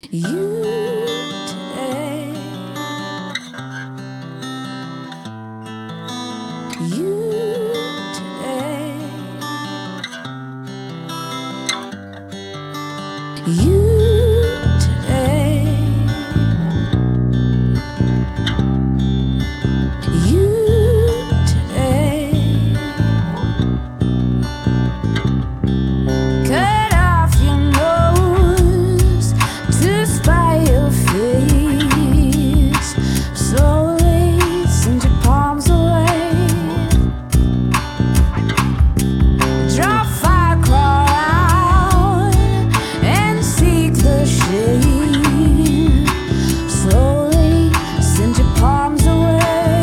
You today, you today, you today, you today. Cut off your nose to spy your face. Slowly send your palms away. Draw fire, crawl out and seek the shade. Slowly send your palms away.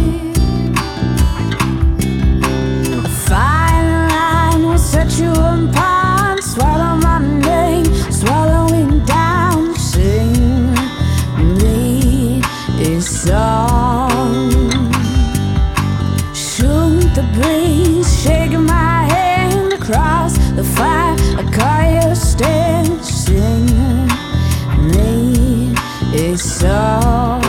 A fine line will set you apart. Swallow my name, swallowing down. Sing me a song. Shoot the breeze, shaking my hand across the fire. I call you stand. Sing me a song.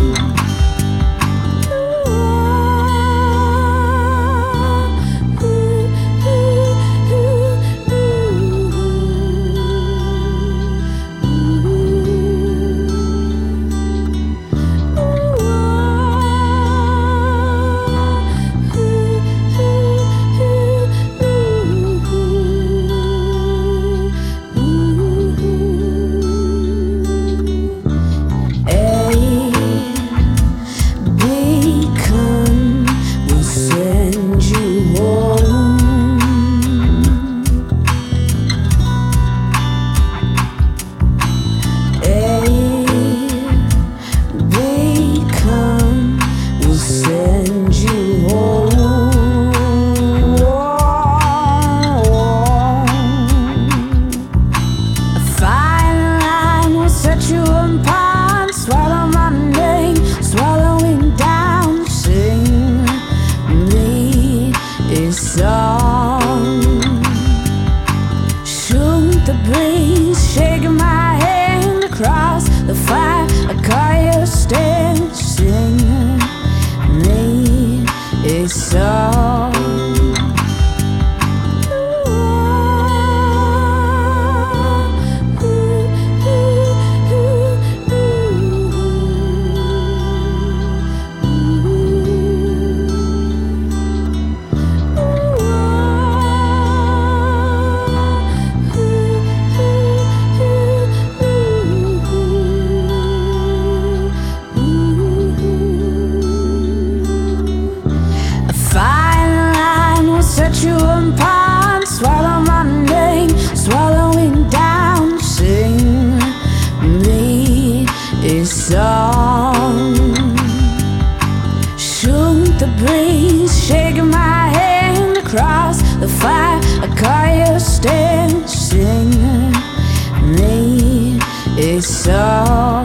Song. Shoot the breeze, shaking my hand across the fire. I call you stand. Sing me a song. Set you apart, swallow my name, swallowing down. Sing me a song. Shoot the breeze, shaking my hand across the fire. I call you stand. Sing me a song.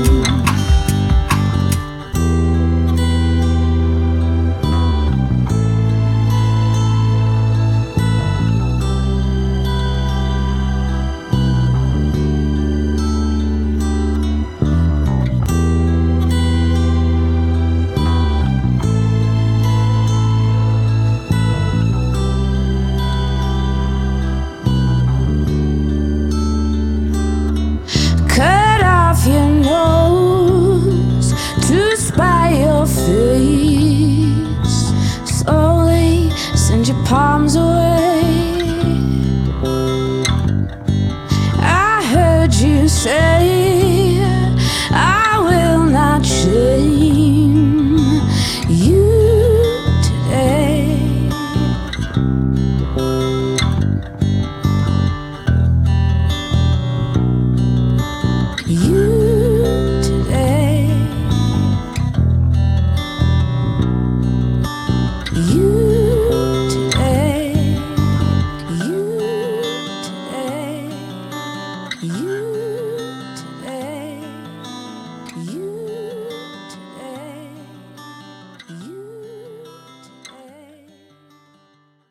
Cut off your nose to spy your face. Slowly send your palms away. I heard you say